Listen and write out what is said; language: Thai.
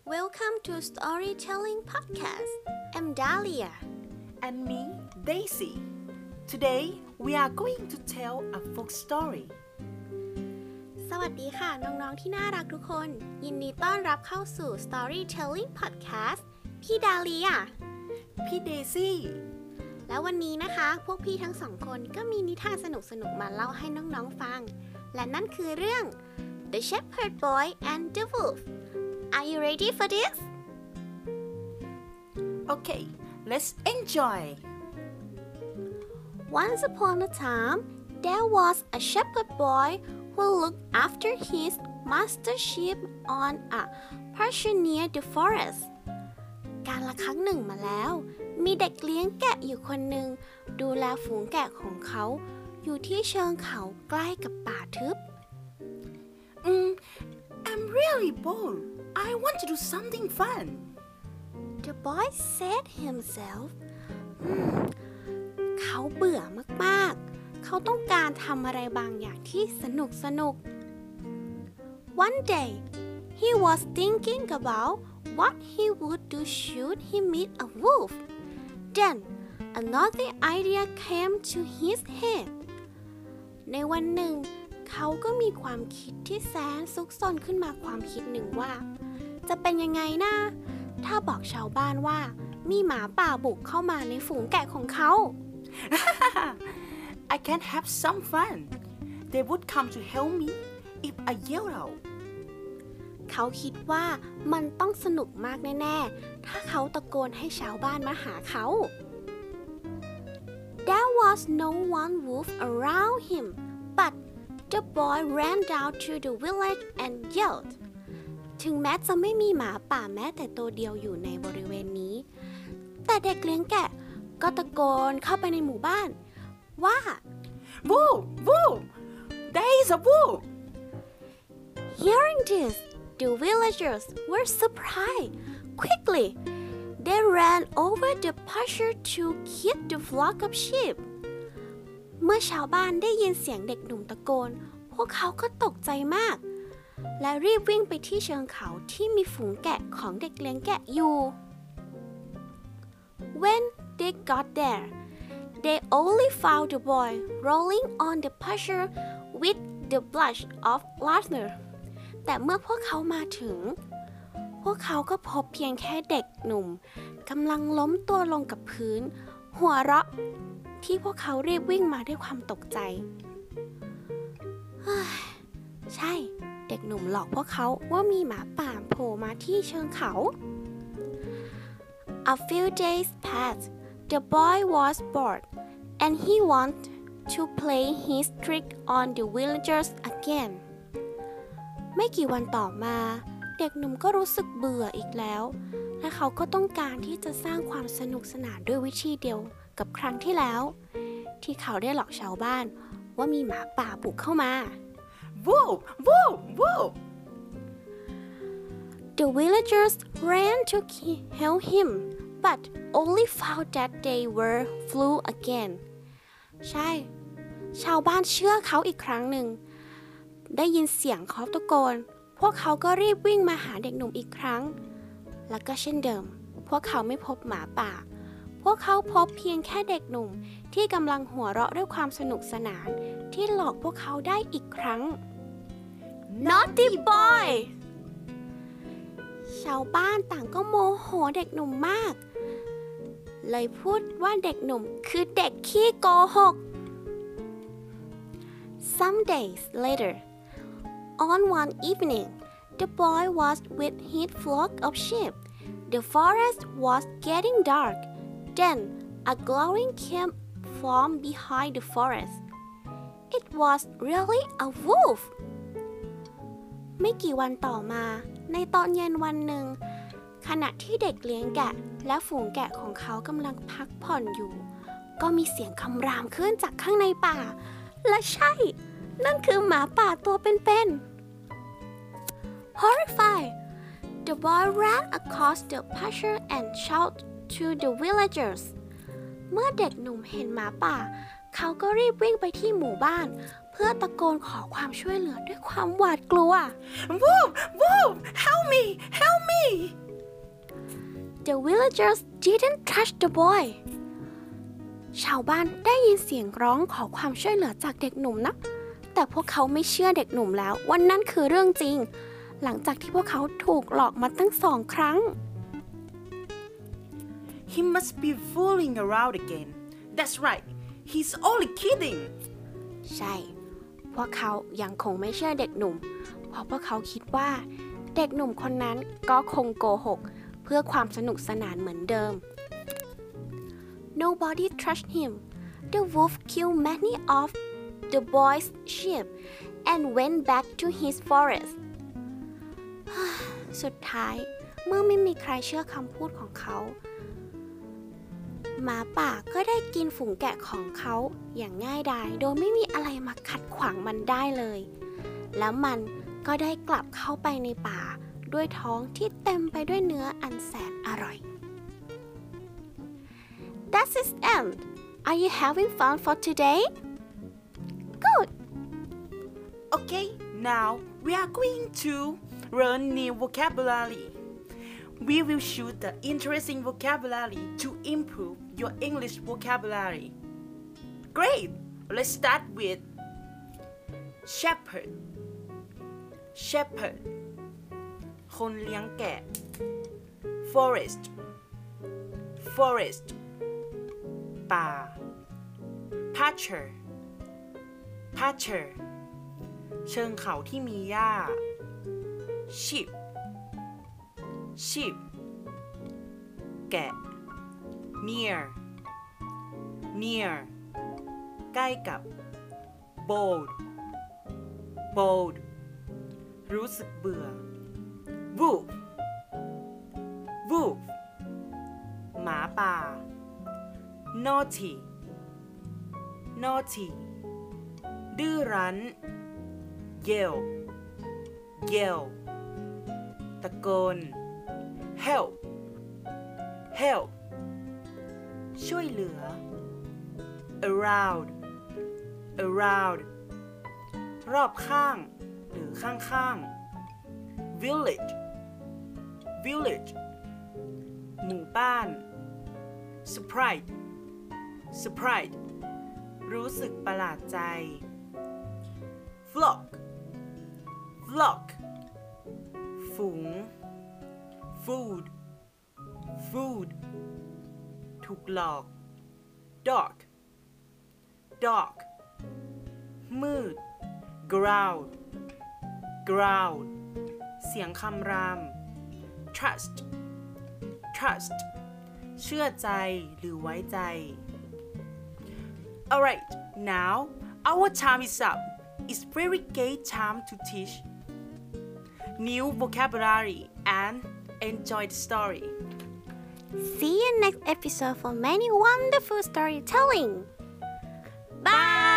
Welcome to Storytelling Podcast. I'm Dahlia. And me, Daisy. Today, we are going to tell a folk story. สวัสดีค่ะน้องๆที่น่ารักทุกคนยินดีต้อนรับเข้าสู่ Storytelling Podcast พี่ดาเลียพี่เดซี่แล้ววันนี้นะคะพวกพี่ทั้งสองคนก็มีนิทานสนุกๆมาเล่าให้น้องๆฟังและนั่นคือเรื่อง The Shepherd Boy and the Wolf. Are you ready for this? Okay, let's enjoy. Once upon a time, there was a shepherd boy who looked after his master's sheep on a pasture near the forest. กาลครั้งหนึ่งมาแล้วมีเด็กเลี้ยงแกะอยู่คนหนึ่งดูแลฝูงแกะของเขาอยู่ที่เชิงเขาใกล้กับป่าทึบ I'm really bored. I want to do something fun. The boy said himself เขาเบื่อมากๆเขาต้องการทำอะไรบางอย่างที่สนุก One day he was thinking about what he would do should he meet a wolf. Then another idea came to his head. ในวันหนึ่งเขาก็มีความคิดที่แสนซุกซนขึ้นมาความคิดหนึ่งว่าจะเป็นยังไงนะถ้าบอกชาวบ้านว่ามีหมาป่าบุกเข้ามาในฝูงแกะของเขา I can have some fun. They would come to help me if I yell out. เขาคิดว่ามันต้องสนุกมากแน่ๆถ้าเขาตะโกนให้ชาวบ้านมาหาเขา There was no one wolf around him, but the boy ran down to the village and yelled. ถึงแม้จะไม่มีหมาป่าแม้แต่ตัวเดียวอยู่ในบริเวณนี้แต่เด็กเลี้ยงแกะก็ตะโกนเข้าไปในหมู่บ้านว่า Wolf! Wolf! There is a wolf! Hearing this, the villagers were surprised. Quickly, they ran over the pasture to keep the flock of sheep. เมื่อชาวบ้านได้ยินเสียงเด็กหนุ่มตะโกนพวกเขาก็ตกใจมากและรีบวิ่งไปที่เชิงเขาที่มีฝูงแกะของเด็กเลี้ยงแกะอยู่ When they got there, they only found the boy rolling on the pasture with the blush of laughter. แต่เมื่อพวกเขามาถึงพวกเขาก็พบเพียงแค่เด็กหนุ่มกำลังล้มตัวลงกับพื้นหัวเราะที่พวกเขารีบวิ่งมาด้วยความตกใจใช่เด็กหนุ่มหลอกพวกเขาว่ามีหมาป่าโผล่มาที่เชิงเขา A few days passed. The boy was bored, and he wanted to play his trick on the villagers again. ไม่กี่วันต่อมาเด็กหนุ่มก็รู้สึกเบื่ออีกแล้วและเขาก็ต้องการที่จะสร้างความสนุกสนานด้วยวิธีเดียวกับครั้งที่แล้วที่เขาได้หลอกชาวบ้านว่ามีหมาป่าบุกเข้ามา Wolf! Wolf! Wolf! The villagers ran to help him, but only found that they were flew again. ใช่ชาวบ้านเชื่อเขาอีกครั้งหนึ่งได้ยินเสียงเขาตะโกนพวกเขาก็รีบวิ่งมาหาเด็กหนุ่มอีกครั้งแล้วก็เช่นเดิมพวกเขาไม่พบหมาป่าพวกเขาพบเพียงแค่เด็กหนุ่มที่กำลังหัวเราะด้วยความสนุกสนานที่หลอกพวกเขาได้อีกครั้ง Naughty boy ชาวบ้านต่างก็โมโหเด็กหนุ่มมากเลยพูดว่าเด็กหนุ่มคือเด็กขี้โกหก Some days later, on one evening, the boy was with his flock of sheep. The forest was getting dark. Then a glowing came from behind the forest. It was really a wolf. ไม่กี่วันต่อมาในตอนเย็นวันหนึ่งขณะที่เด็กเลี้ยงแกะและฝูงแกะของเขากำลังพักผ่อนอยู่ก็มีเสียงคำรามขึ้นจากข้างในป่าและใช่นั่นคือหมาป่าตัวเป็นๆ Horrified, the boy ran across the pasture and shouted to the villagers. เมื่อเด็กหนุ่มเห็นหมาป่าเขาก็รีบวิ่งไปที่หมู่บ้านเพื่อตะโกนขอความช่วยเหลือด้วยความหวาดกลัว Wolf! Wolf! Help me! Help me! The villagers didn't trust the boy ชาวบ้านได้ยินเสียงร้องขอความช่วยเหลือจากเด็กหนุ่มนะแต่พวกเขาไม่เชื่อเด็กหนุ่มแล้วว่านั่นคือเรื่องจริงหลังจากที่พวกเขาถูกหลอกมาตั้ง2 ครั้ง He must be fooling around again. That's right. He's only kidding. ใช่พวกเขายังคงไม่เชื่อเด็กหนุ่มเพราะพวกเขาคิดว่าเด็กหนุ่มคนนั้นก็คงโกหกเพื่อความสนุกสนานเหมือนเดิม Nobody trusted him. The wolf killed many of the boy's sheep and went back to his forest. สุดท้ายเมื่อไม่มีใครเชื่อคำพูดของเขาหมาป่าก็ได้กินฝูงแกะของเขาอย่างง่ายดายโดยไม่มีอะไรมาขัดขวางมันได้เลยแล้วมันก็ได้กลับเข้าไปในป่าด้วยท้องที่เต็มไปด้วยเนื้ออันแสนอร่อย That's its end. Are you having fun for today? Good. Okay, now we are going to learn new vocabulary. We will choose the interesting vocabulary to improve your English vocabulary. Great! Let's start with shepherd. Shepherd คนเลี้ยงแกะ Forest. Forest ป่า Pasture. Pasture เชิงเขาที่มีหญ้า Sheep. Sheep แกะ Near. Near ใกล้กับ Bold. Bold รู้สึกเบื่อ Wolf. Wolf หมาป่า Naughty. Naughty ดื้อรั้น Yell. Yell ตะโกน Help. Help ช่วยเหลือ Around. Around รอบข้างหรือข้างๆ Village. Village หมู่บ้าน Surprise. Surprise รู้สึกประหลาดใจ Flock. Flock ฝูง Food. Food ถูกหลอก Dark. Dark มืด Growl. Growl เสียงคำราม Trust. Trust เชื่อใจหรือไว้ใจ Alright, now our time is up. It's very great time to teach new vocabulary and enjoy the story. See you next episode for many wonderful storytelling. Bye!